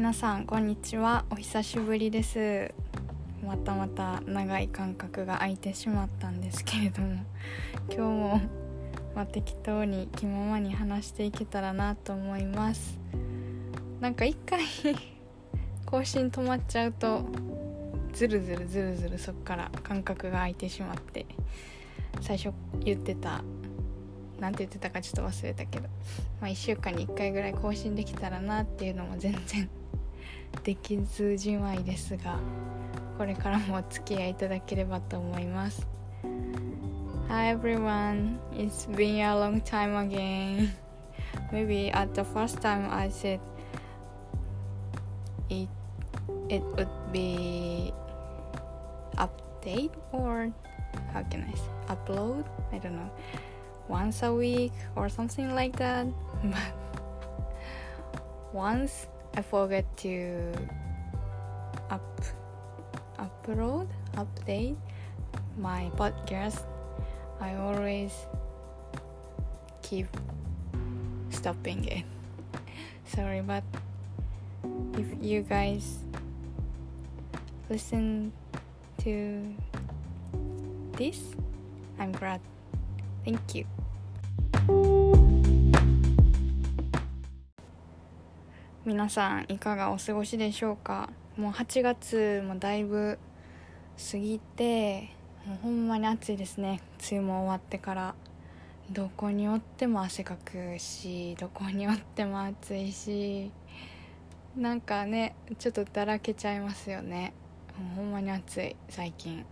皆さんこんにちは。お久しぶりです。また長い間隔が空いてしまったんですけれども、今日も適当に気ままに話していけたらなと思います。なんか一回更新止まっちゃうとずるずるそっから間隔が空いてしまって、最初なんて言ってたかちょっと忘れたけど、1週間に1回ぐらい更新できたらなっていうのも全然できずじまいですが、これからもお付き合いいただければと思います。 Hi everyone, it's been a long time again. Maybe at the first time I said it would be update, or how can I say upload, I don't know, once a week or something like that, but once I forget to update my podcast, I always keep stopping it. Sorry, but if you guys listen to this, I'm glad. Thank you.皆さんいかがお過ごしでしょうか。もう8月もだいぶ過ぎて、もうほんまに暑いですね。梅雨も終わってからどこにおっても汗かくし、どこにおっても暑いし、なんかねちょっとだらけちゃいますよね。もうほんまに暑い最近。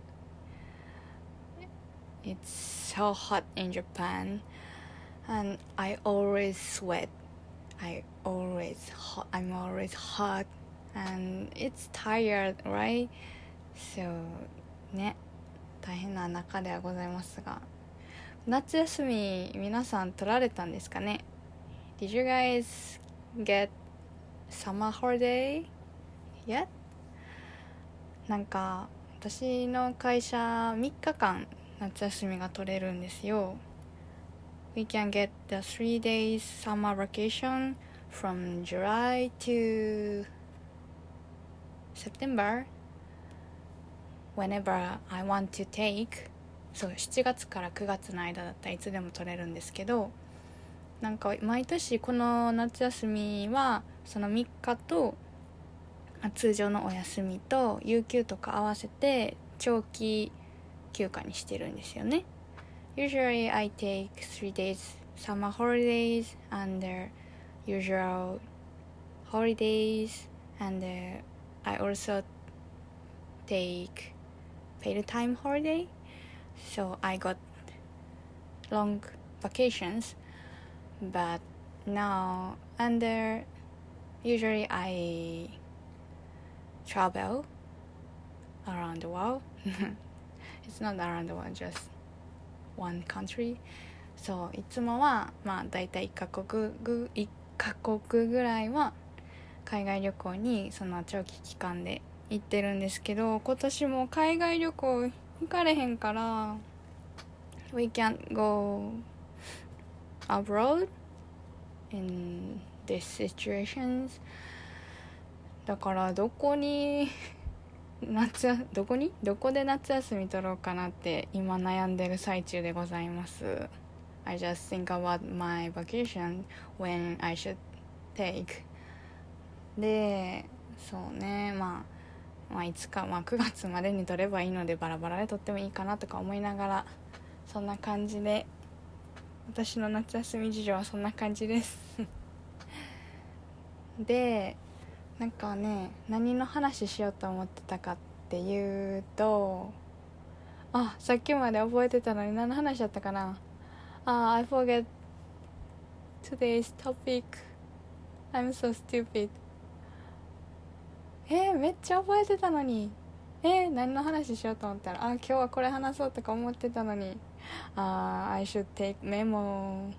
It's so hot in Japan and I always sweat.I'm always hot and it's tired, right? So ね、大変な中ではございますが、夏休み皆さん取られたんですかね。 Did you guys get summer holiday yet? なんか私の会社3日間夏休みが取れるんですよ。We can get the 3 days summer vacation from July to September whenever I want to take. そう、7月から9月の間だったらいつでも取れるんですけど、なんか毎年この夏休みはその3日と通常のお休みと有給とか合わせて長期休暇にしてるんですよね。Usually I take 3 days summer holidays and usual holidays, and I also take paid time holiday, so I got long vacations. But now usually I travel around the world. It's not around the world, just one country. そう、いつもはだいたい1カ国ぐらいは海外旅行にその長期期間で行ってるんですけど、今年も海外旅行行かれへんから We can't go abroad in these situations. だからどこで夏休み取ろうかなって今悩んでる最中でございます。 I just think about my vacation when I should take. で、そうね、いつか9月までに取ればいいのでバラバラで取ってもいいかなとか思いながら、そんな感じで、私の夏休み事情はそんな感じですで、なんかね、何の話しようと思ってたかっていうと、さっきまで覚えてたのに何の話だったかな。I forget today's topic. I'm so stupid. めっちゃ覚えてたのに。何の話しようと思ったら、今日はこれ話そうとか思ってたのに。I should take memo.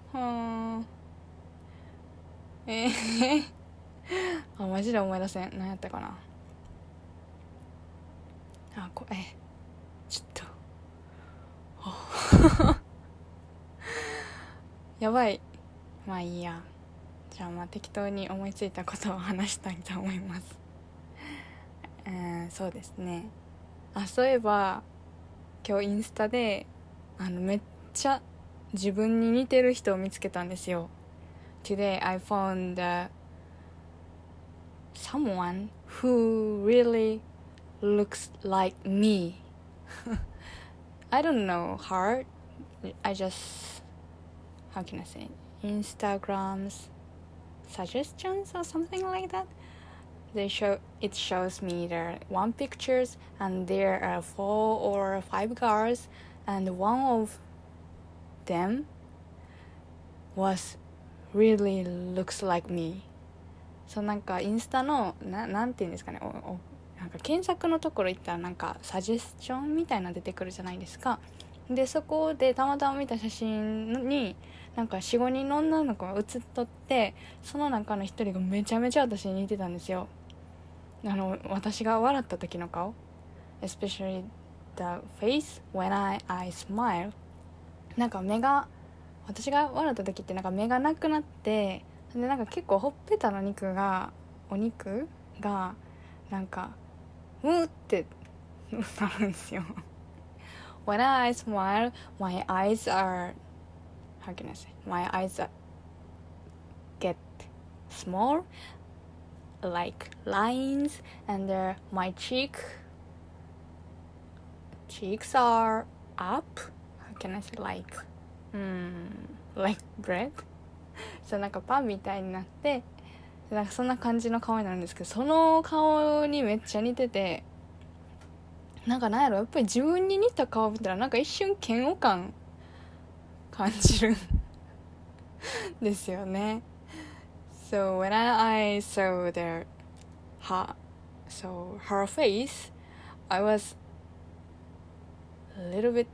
マジで思い出せん。何やったかな。ちょっとやばい。いいや。 じゃあ適当に思いついたことを話したいと思います。そうですね。そういえば今日インスタでめっちゃ自分に似てる人を見つけたんですよ。Today I found someone who really looks like me. I don't know her. I just, how can I say, Instagram's suggestions or something like that. It shows me there one pictures and there are 4 or 5 girls and one of them was really looks like me. そうなんかインスタのなんていうんですかね、なんか検索のところ行ったらなんかサジェスションみたいなの出てくるじゃないですか。でそこでたまたま見た写真になんか 4,5 人の女の子が写っとって、その中の一人がめちゃめちゃ私に似てたんですよ。私が笑った時の顔、 especially the face when I smile。 なんか私が笑った時ってなんか目がなくなって、でなんか結構ほっぺたのお肉がなんかうってなるんですよ。When I smile, my eyes are, how can I say, my eyes get small like lines, and my cheeks are up. How can I say, like bread? そうなんかパンみたいになって、なんかそんな感じの顔になるんですけど、その顔にめっちゃ似てて、なんやろ、やっぱり自分に似た顔見たらなんか一瞬嫌悪感感じるんですよね。So when I saw her face, I was a little bit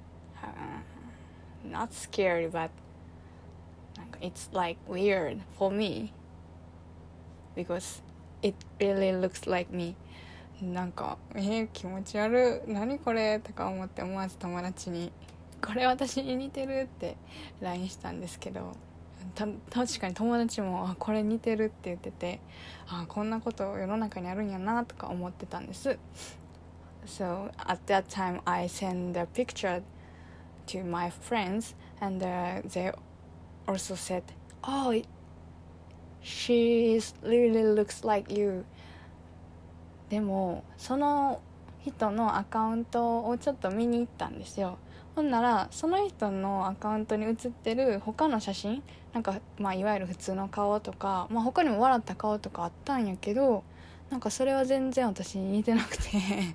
not scared, but it's like weird for me because it really looks like me. なんか気持ち悪い、何これとか思って思わず友達にこれ私に似てるって LINE したんですけど、確かに友達もこれ似てるって言ってて、こんなこと世の中にあるんやなとか思ってたんです。So at that time I sent the picture to my friends, and they also said, "Oh, she really looks like you." でもその人のアカウントをちょっと見に行ったんですよ。ほんならその人のアカウントに写ってる他の写真、なんかいわゆる普通の顔とか、他にも笑った顔とかあったんやけど、なんかそれは全然私に似てなくて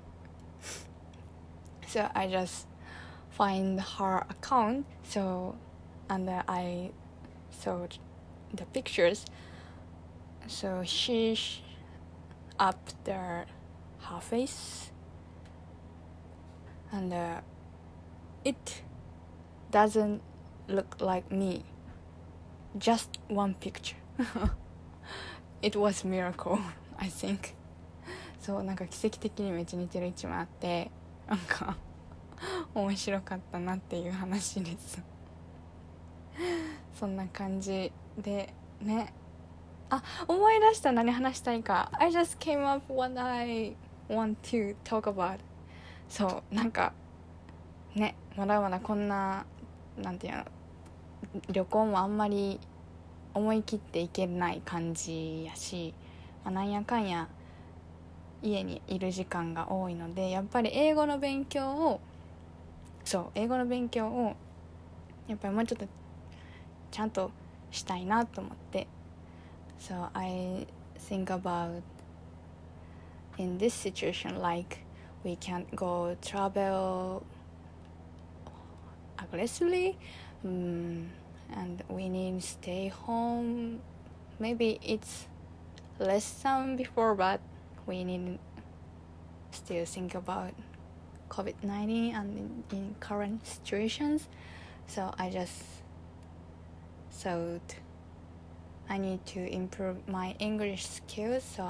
So I just find her account, and I saw the pictures. So she up her face, and it doesn't look like me. Just one picture. It was a miracle, I think. そうなんか奇跡的にめっちゃ似てる一枚あって、なんか面白かったなっていう話ですそんな感じでね。思い出した、何話したいか。 I just came up what I want to talk about。 そうなんかね、まだまだこんななんていうの、旅行もあんまり思い切っていけない感じやし、なんやかんや家にいる時間が多いので、やっぱり英語の勉強をやっぱりもうちょっとちゃんとしたいなと思って。 So I think about in this situation, like we can't go travel aggressively, and we need to stay home. Maybe it's less than before, but we need still think about COVID-19 and in current situations. So I just thought I need to improve my English skills. So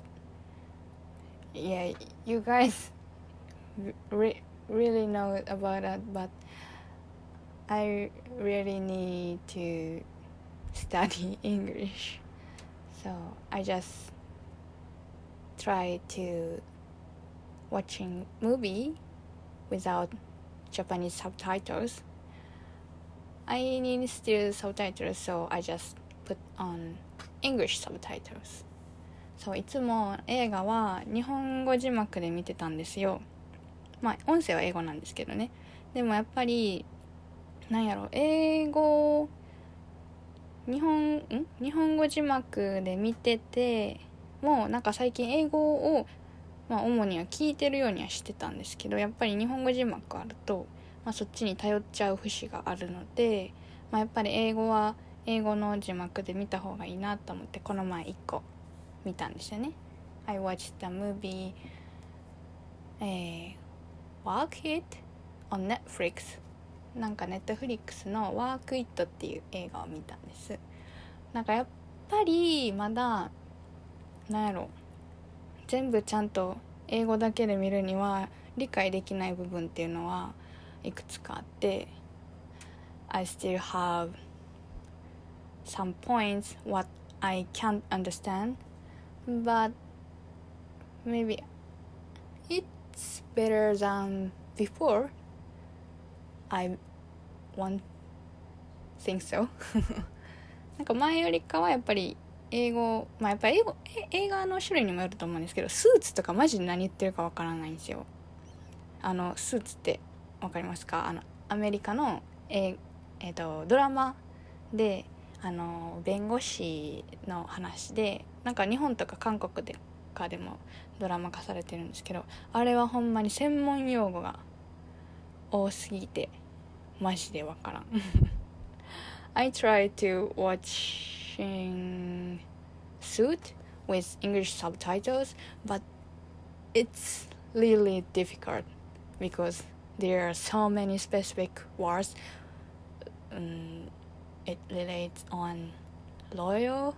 you guys really know about that, but I really need to study English. So I just try to watching movie without Japanese subtitles. I need still subtitles, so I just put on English subtitles. そう、いつも映画は日本語字幕で見てたんですよ。まあ音声は英語なんですけどね。でもやっぱりなんやろ、英語日本語字幕で見ててもなんか最近英語を主には聞いてるようにはしてたんですけど、やっぱり日本語字幕あると、そっちに頼っちゃう節があるので、やっぱり英語は英語の字幕で見た方がいいなと思ってこの前1個見たんですよね。I watched the movie Work It on Netflix。 なんか Netflix の Work It っていう映画を見たんです。なんかやっぱりまだなんやろ、全部ちゃんと英語だけで見るには理解できない部分っていうのはいくつかあって、 I still have some points what I can't understand, but maybe it's better than before. I won't think so. なんか前よりかはやっぱり英語、やっぱり映画の種類にもよると思うんですけど、スーツとかマジで何言ってるかわからないんですよ。スーツってわかりますか？アメリカの、ドラマで弁護士の話で、なんか日本とか韓国でもドラマ化されてるんですけど、あれはほんまに専門用語が多すぎてマジでわからん。I try to watching Suit with English subtitles, but it's really difficult because there are so many specific words. It relates on law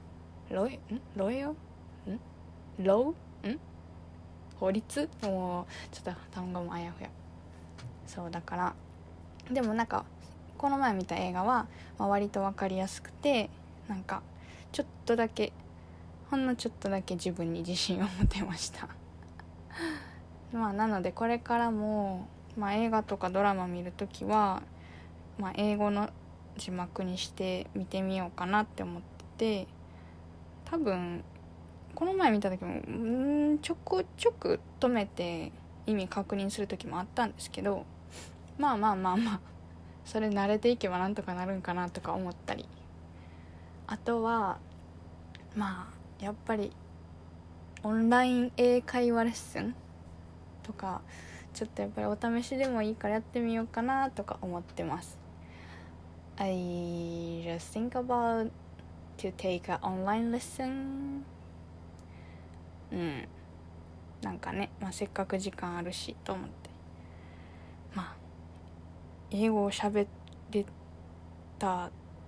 法律、もうちょっと単語もあやふや。そうだから、でもなんかこの前見た映画は、割と分かりやすくて、なんかちょっとだけほんのちょっとだけ自分に自信を持てました。なのでこれからも、映画とかドラマ見るときは、英語の字幕にして見てみようかなって思ってて、多分この前見た時もちょくちょく止めて意味確認する時もあったんですけど、それ慣れていけばなんとかなるんかなとか思ったり、あとはやっぱりオンライン英会話レッスンとかちょっとやっぱりお試しでもいいからやってみようかなとか思ってます。I just think about to take an online lesson. なんかね、せっかく時間あるしと思って、英語を喋れた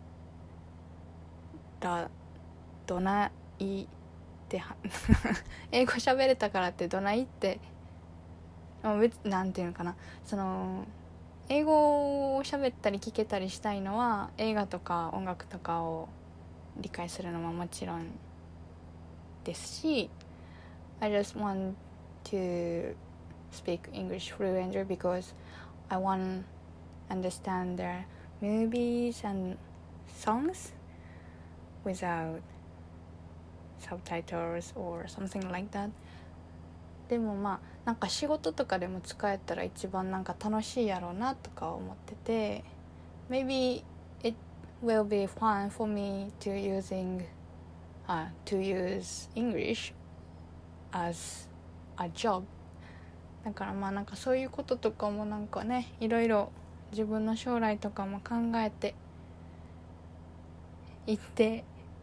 らどないって英語喋れたからってどないってなんていうのかな、英語を喋ったり聞けたりしたいのは映画とか音楽とかを理解するのももちろんですし、I just want to speak English fluently because I want understand the movies and songs without subtitles or something like that. でもなんか仕事とかでも使えたら一番なんか楽しいやろうなとか思ってて、 Maybe it will be fun for me to use English as a job. だからなんかそういうこととかもなんかね、いろいろ自分の将来とかも考えていって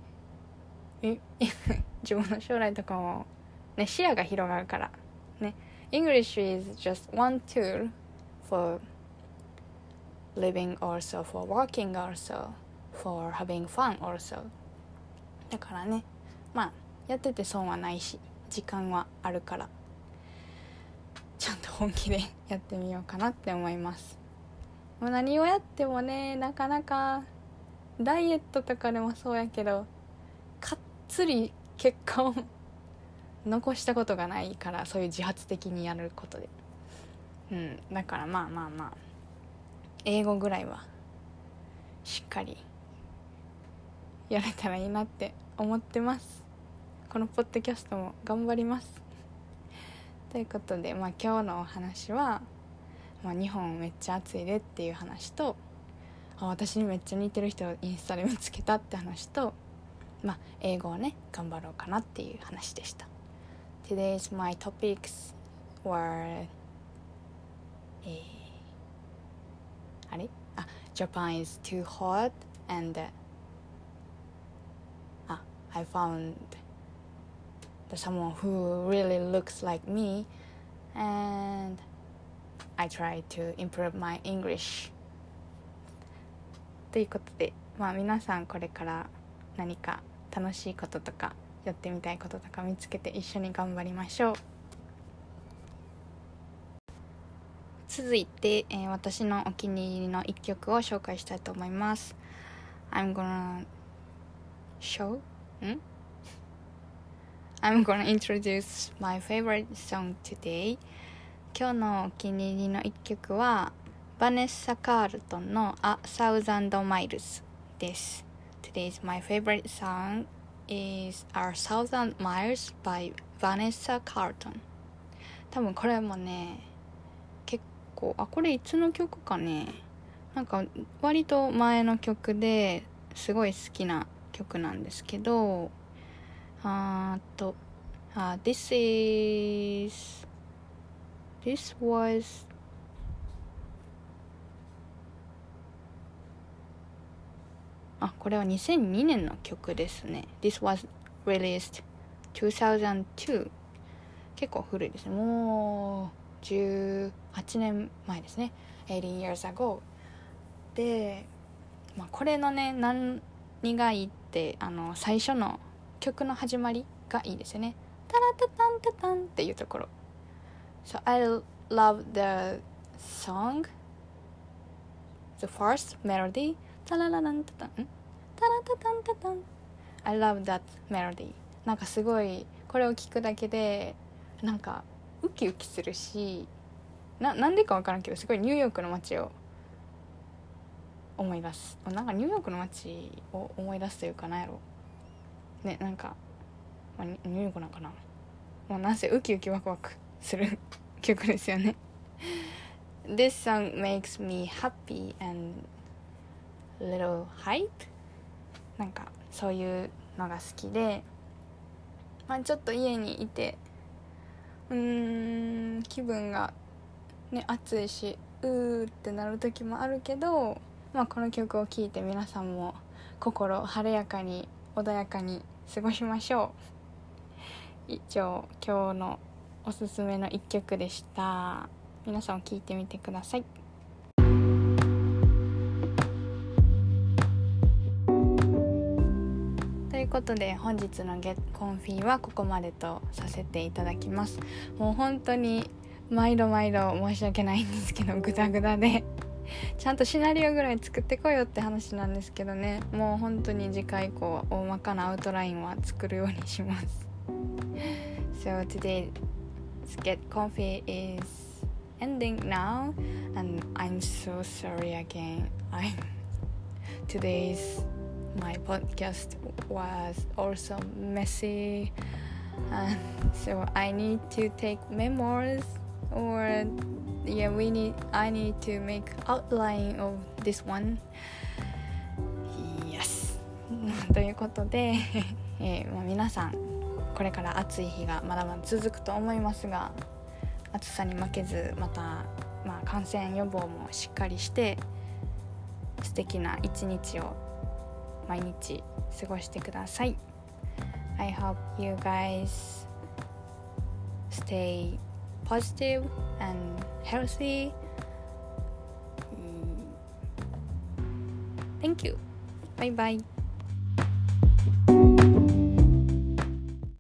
自分の将来とかもね、視野が広がるからね。 English is just one tool for living, also for working, also for having fun also. だからね、やってて損はないし時間はあるから、ちゃんと本気でやってみようかなって思います。何をやってもね、なかなかダイエットとかでもそうやけどかっつり結果を残したことがないから、そういう自発的にやることで、だからまあ英語ぐらいはしっかりやれたらいいなって思ってます。このポッドキャストも頑張ります。ということで、今日のお話は、日本めっちゃ暑いでっていう話と、私にめっちゃ似てる人をインスタで見つけたって話と、英語をね頑張ろうかなっていう話でした。 Today's my topics were Japan is too hot and I found someone who really looks like me and I try to improve my English ということで、皆さんこれから何か楽しいこととかやってみたいこととか見つけて一緒に頑張りましょう。続いて、私のお気に入りの一曲を紹介したいと思います。I'm gonna introduce my favorite song today. 今日のお気に入りの一曲はバネッサ・カールトンの A Thousand Miles です。 Today's my favorite song is A Thousand Miles by Vanessa Carlton。 多分これもね結構これいつの曲かね、なんか割と前の曲ですごい好きな曲なんですけど、This wasこれは2002年の曲ですね。 This was released 2002。 結構古いですね。もう18年前ですね。18 years ago で、これのね何がいいって最初の曲の始まりがいいですよね。タラタタンタタンっていうところ。So I love the song, the first melody. タララランタタン、タラタタンタタン。I love that melody。なんかすごいこれを聞くだけでなんかウキウキするし、なんでかわからんけどすごいニューヨークの街を思い出す。なんかニューヨークの街を思い出すというかなんやろね、なんか、ニューヨークなんかな、なんせウキウキワクワクする曲ですよね。This song makes me happy and little hype。 なんかそういうのが好きで、ちょっと家にいて気分がね暑いしってなる時もあるけど、この曲を聴いて皆さんも心晴れやかに穏やかに過ごしましょう。以上、今日のおすすめの一曲でした。皆さん聴いてみてください。ということで本日のGet Comfyはここまでとさせていただきます。もう本当に毎度申し訳ないんですけどグダグダでちゃんとシナリオぐらい作ってこいよって話なんですけどね、もう本当に次回以降は大まかなアウトラインは作るようにします。So today's Get Comfy is ending now and I'm so sorry again. Today's my podcast was also messy and so I need to take memoirs or I need to make outline of this one. Yes ということで、皆さんこれから暑い日がまだまだ続くと思いますが、暑さに負けずまた、感染予防もしっかりして素敵な一日を毎日過ごしてください。I hope you guys stay positive and healthy. Thank you. Bye bye.